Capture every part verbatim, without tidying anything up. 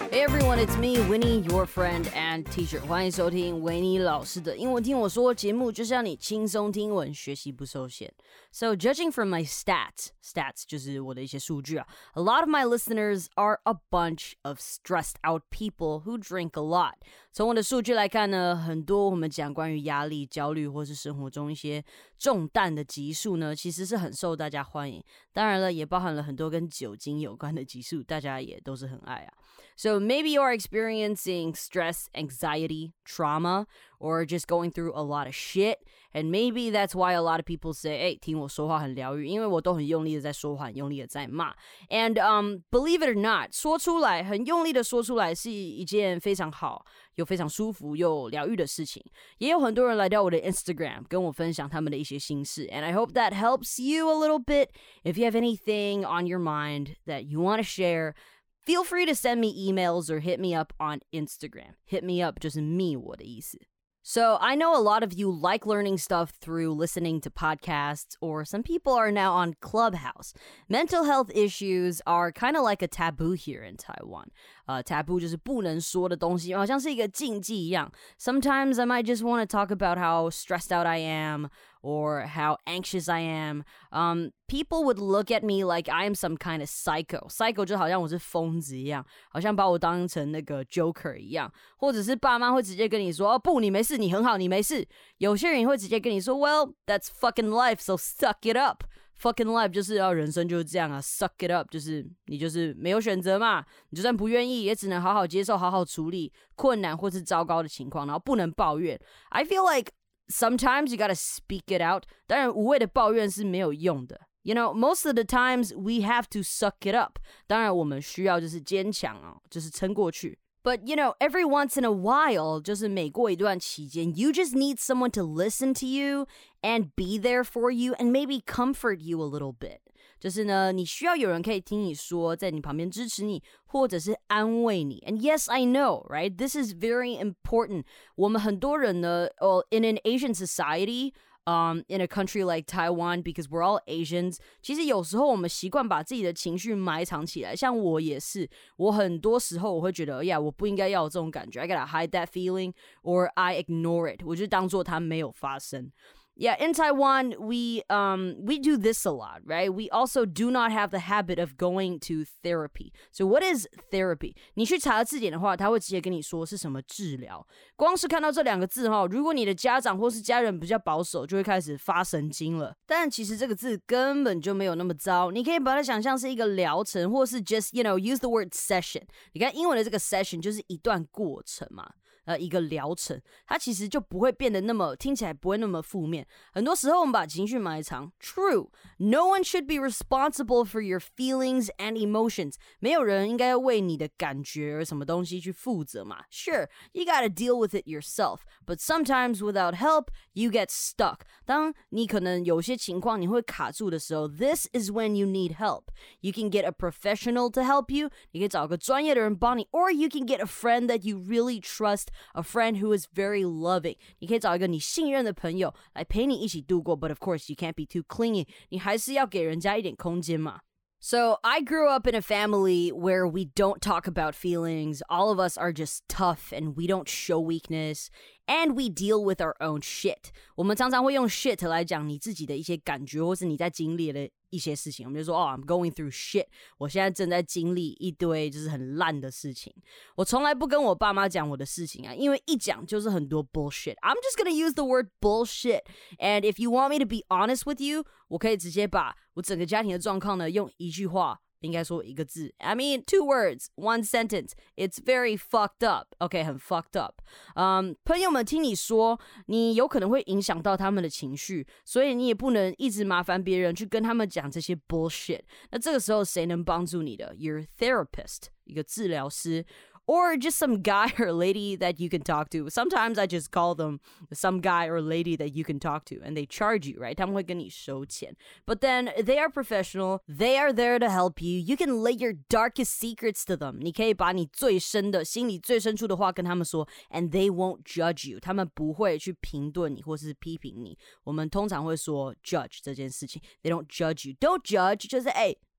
Hey everyone, it's me, Winnie, your friend and teacher. 欢迎收听维尼老师的英文听我说节目，就是要你轻松听文，学习不受限。So, judging from my stats, stats 就是我的一些数据啊。A lot of my listeners are a bunch of stressed out people who drink a lot. 从我的数据来看呢，很多我们讲关于压力、焦虑或是生活中一些重担的集数呢，其实是很受大家欢迎。当然了，也包含了很多跟酒精有关的集数，大家也都是很爱啊。So maybe you are experiencing stress, anxiety, trauma, or just going through a lot of shit. And maybe that's why a lot of people say, 哎，听我说话很疗愈，因为我都很用力的在说话，很用力的在骂。And um, believe it or not, 说出来，很用力的说出来是一件非常好，又非常舒服又疗愈的事情。也有很多人来到我的 Instagram 跟我分享他们的一些心事。And I hope that helps you a little bit. If you have anything on your mind that you want to share,Feel free to send me emails or hit me up on Instagram. Hit me up 就是 me 我的意思。So I know a lot of you like learning stuff through listening to podcasts, or some people are now on Clubhouse. Mental health issues are kind of like a taboo here in Taiwan. Uh, taboo 就是不能说的东西，好像是一个禁忌一样。Sometimes I might just want to talk about how stressed out I am, or how anxious I am. Um, people would look at me like I am some kind of psycho. Psycho 就好像我是疯子一样，好像把我当成那个 Joker 一样，或者是爸妈会直接跟你说，哦不，你没事，你很好，你没事。有些人会直接跟你说 ，Well, that's fucking life, so suck it up.Fucking life 就是要人生就是这样啊 ，suck it up 就是你就是没有选择嘛，你就算不愿意，也只能好好接受、好好处理困难或是糟糕的情况，然后不能抱怨。I feel like sometimes you gotta speak it out. 当然，无谓的抱怨是没有用的。You know, most of the times we have to suck it up. 当然，我们需要就是坚强啊，就是撑过去。But, you know, every once in a while, 就是每过一段期间 you just need someone to listen to you and be there for you and maybe comfort you a little bit. 就是呢，你需要有人可以听你说，在你旁边支持你，或者是安慰你。And yes, I know, right? This is very important. 我们很多人呢， well, in an Asian society,Um, in a country like Taiwan, because we're all Asians, 其实有时候我们习惯把自己的情绪埋藏起来，像我也是，我很多时候我会觉得，呀，我不应该要有这种感觉 I gotta hide that feeling, or I ignore it. 我就当作它没有发生。Yeah, in Taiwan, we um we do this a lot, right? We also do not have the habit of going to therapy. So what is therapy? 你去查字典的话，他会直接跟你说是什么治疗。光是看到这两个字哈，如果你的家长或是家人比较保守，就会开始发神经了。但其实这个字根本就没有那么糟，你可以把它想象是一个疗程，或是 just you know use the word session. 你看英文的这个 session 就是一段过程嘛。呃，一个疗程，它其实就不会变得那么听起来不会那么负面。很多时候我们把情绪埋藏 ，True, no one should be responsible for your feelings and emotions. 没有人应该为你的感觉什么东西去负责嘛。Sure, you gotta deal with it yourself, but sometimes without help, you get stuck. 当你可能有些情况你会卡住的时候 ，This is when you need help. You can get a professional to help you. 你可以找个专业的人帮你 ，or you can get a friend that you really trust.A friend who is very loving. 你可以找一个你信任的朋友来陪你一起度过 but of course you can't be too clingy. 你还是要给人家一点空间嘛。So I grew up in a family where we don't talk about feelings. All of us are just tough and we don't show weakness. And we deal with our own shit. 我们常常会用 shit 来讲你自己的一些感觉，或是你在经历的一些事情。我们就说，哦 I'm going through shit. 我现在正在经历一堆就是很烂的事情。我从来不跟我爸妈讲我的事情啊，因为一讲就是很多 bullshit. I'm just gonna use the word bullshit. And if you want me to be honest with you, 我可以直接把我整个家庭的状况呢，用一句话。应该说一个字 I mean, two words, one sentence. It's very fucked up. OK, 很 fucked up. 嗯，朋友们听你说，你有可能会影响到他们的情绪，所以你也不能一直麻烦别人去跟他们讲这些 bullshit. 那这个时候谁能帮助你的 Your therapist, 一个治疗师。Or just some guy or lady that you can talk to. Sometimes I just call them some guy or lady that you can talk to. And they charge you, right? 他们会跟你收钱. But then they are professional. They are there to help you. You can lay your darkest secrets to them. 你可以把你最深的心里最深处的话跟他们说 And they won't judge you. 他们不会去评论你或是批评你。我们通常会说 judge 这件事情。They don't judge you. Don't judge. 就是哎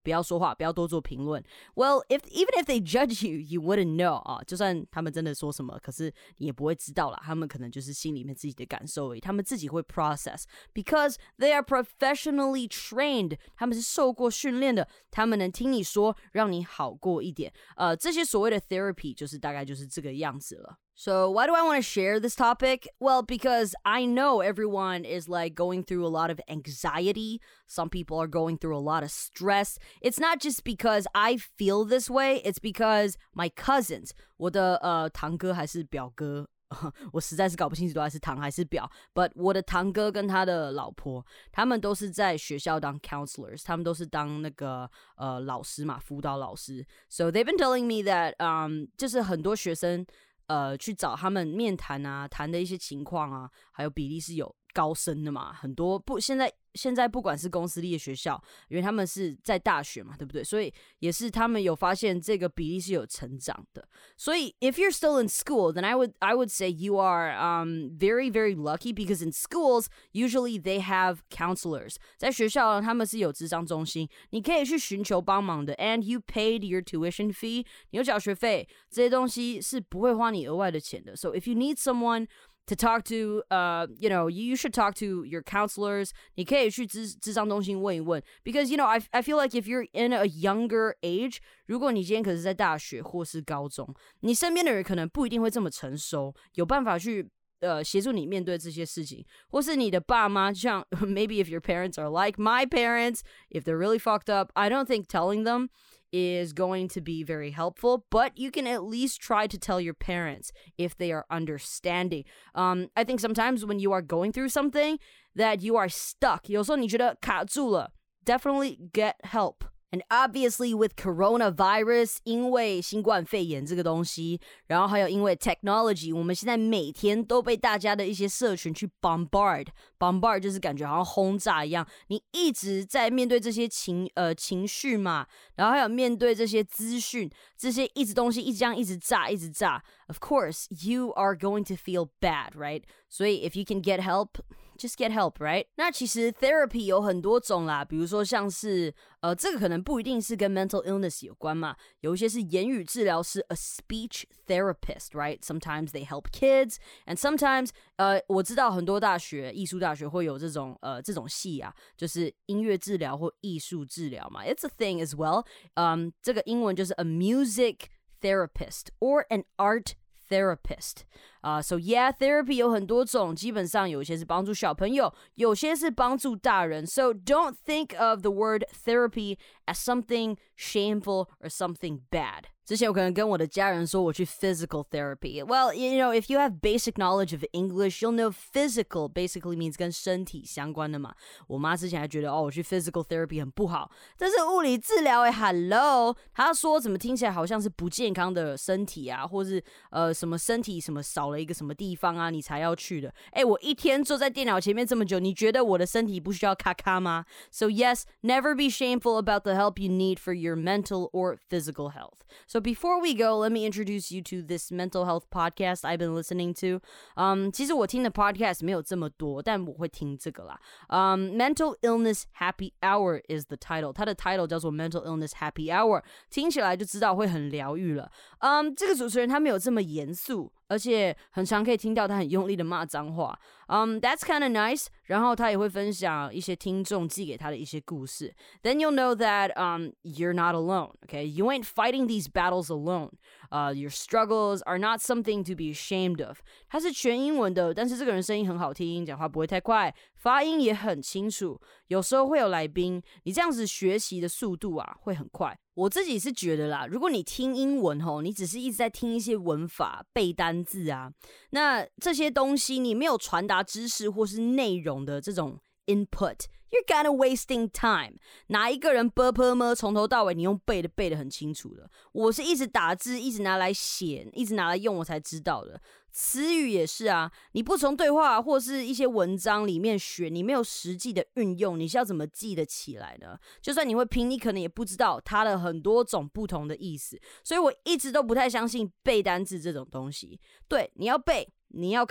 不要说话，不要多做评论。Well, if even if they judge you, you wouldn't know 啊，就算他们真的说什么，可是你也不会知道啦。他们可能就是心里面自己的感受而已，他们自己会 process because they are professionally trained. 他们是受过训练的，他们能听你说，让你好过一点。呃，这些所谓的 therapy 就是大概就是这个样子了。So why do I want to share this topic? Well, because I know everyone is like going through a lot of anxiety. Some people are going through a lot of stress. It's not just because I feel this way. It's because my cousins, 我的呃堂哥还是表哥，我实在是搞不清楚到底是堂还是表 but 我的堂哥跟他的老婆他们都是在学校当 counselors 他们都是当那个呃老师嘛辅导老师 so they've been telling me that um 就是很多学生呃去找他们面谈啊谈的一些情况啊还有比例是有高升的嘛很多不现在现在不管是公私立的学校因为他们是在大学嘛对不对所以也是他们有发现这个比例是有成长的所以 if you're still in school then I would I would say you are um very very lucky because in schools usually they have counselors 在学校他们是有諮商中心你可以去尋求幫忙的 and you paid your tuition fee 你有繳學費這些東西是不會花你額外的錢的 so if you need someone to talk to, uh, you know, you should talk to your counselors. 你可以去諮諮商中心問一問 because, you know, I, I feel like if you're in a younger age, 如果你今天可是在大學或是高中，你身邊的人可能不一定會這麼成熟，有辦法去呃協助你面對這些事情，或是你的爸媽，像 maybe if your parents are like my parents, if they're really fucked up, I don't think telling them is going to be very helpful, but you can at least try to tell your parents if they are understanding. Um, I think sometimes when you are going through something that you are stuck, 有时候你觉得卡住了 definitely get help. And obviously with coronavirus, 因为新冠肺炎这个东西，然后还有因为 technology, 我们现在每天都被大家的一些社群去 bombard. Bombard 就是感觉好像轰炸一样，你一直在面对这些情呃情绪嘛，然后还有面对这些资讯，这些一直东西一直这样一直炸一直炸。Of course, you are going to feel bad, right? 所以 if you can get help,Just get help, right? 那其实 therapy 有很多种啦，比如说像是呃，这个可能不一定是跟 mental illness 有关嘛，有一些是言语治疗师 a speech therapist, right? Sometimes they help kids, and sometimes 呃，我知道很多大学艺术大学会有这种呃这种系啊，就是音乐治疗或艺术治疗嘛。It's a thing as well. 嗯，这个英文就是 a music therapist or an art therapist. Uh, so yeah, therapy 有很多种，基本上有些是帮助小朋友，有些是帮助大人。So don't think of the word therapy as something shameful or something bad. 之前我可能跟我的家人说我去 physical therapy. Well, you know, if you have basic knowledge of English, you'll know physical basically means 跟身体相关的嘛。我妈之前还觉得哦，我去 physical therapy 很不好，但是物理治疗诶 ，hello， 她说怎么听起来好像是不健康的身体啊，或是呃什么身体什么少了一个什么地方啊，你才要去的。诶，我一天坐在电脑前面这么久，你觉得我的身体不需要咔咔吗 ？So yes, never be shameful about the help you need for your mental or physical health. So before we go, let me introduce you to this mental health podcast I've been listening to. Um, 其实我听的 podcast 没有这么多，但我会听这个啦。Um, Mental Illness Happy Hour is the title. 它的 title 叫做 Mental Illness Happy Hour， 听起来就知道会很疗愈了。Um, 这个主持人他没有这么严肃。而且很常可以听到他很用力的骂脏话 um, That's kind of nice 然后他也会分享一些听众寄给他的一些故事 Then you'll know that um, you're not alone okay? You ain't fighting these battles alone uh, Your struggles are not something to be ashamed of 他是全英文的但是这个人声音很好听讲话不会太快发音也很清楚有时候会有来宾你这样子学习的速度啊会很快我自己是觉得啦如果你听英文吼你只是一直在听一些文法背单字啊那这些东西你没有传达知识或是内容的这种 input You're kind of wasting time 哪一个人 啵啵么从头到尾你用背的背的很清楚的我是一直打字一直拿来写一直拿来用我才知道的词语也是啊你不从对话或是一些文章里面学你没有实际的运用你是要怎么记得起来呢就算你会拼你可能也不知道它的很多种不同的意思所以我一直都不太相信背单字这种东西对你要背你要看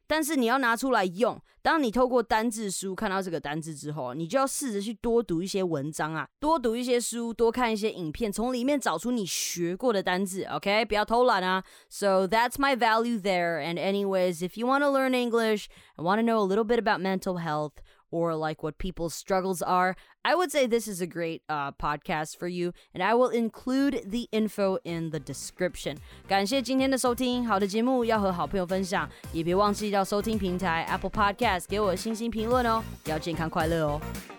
但是你要拿出来用。当你透过单字书看到这个单字之后，你就要试着去多读一些文章啊，多读一些书，多看一些影片，从里面找出你学过的单字 OK 不要偷懒啊。 So that's my value there. And anyways, if you want to learn English and want to know a little bit about mental health or like what people's struggles are, I would say this is a great uh, podcast for you, and I will include the info in the description. 感谢今天的收听，好的节目要和好朋友分享，也别忘记到收听平台 Apple Podcast 给我星星评论哦，要健康快乐哦。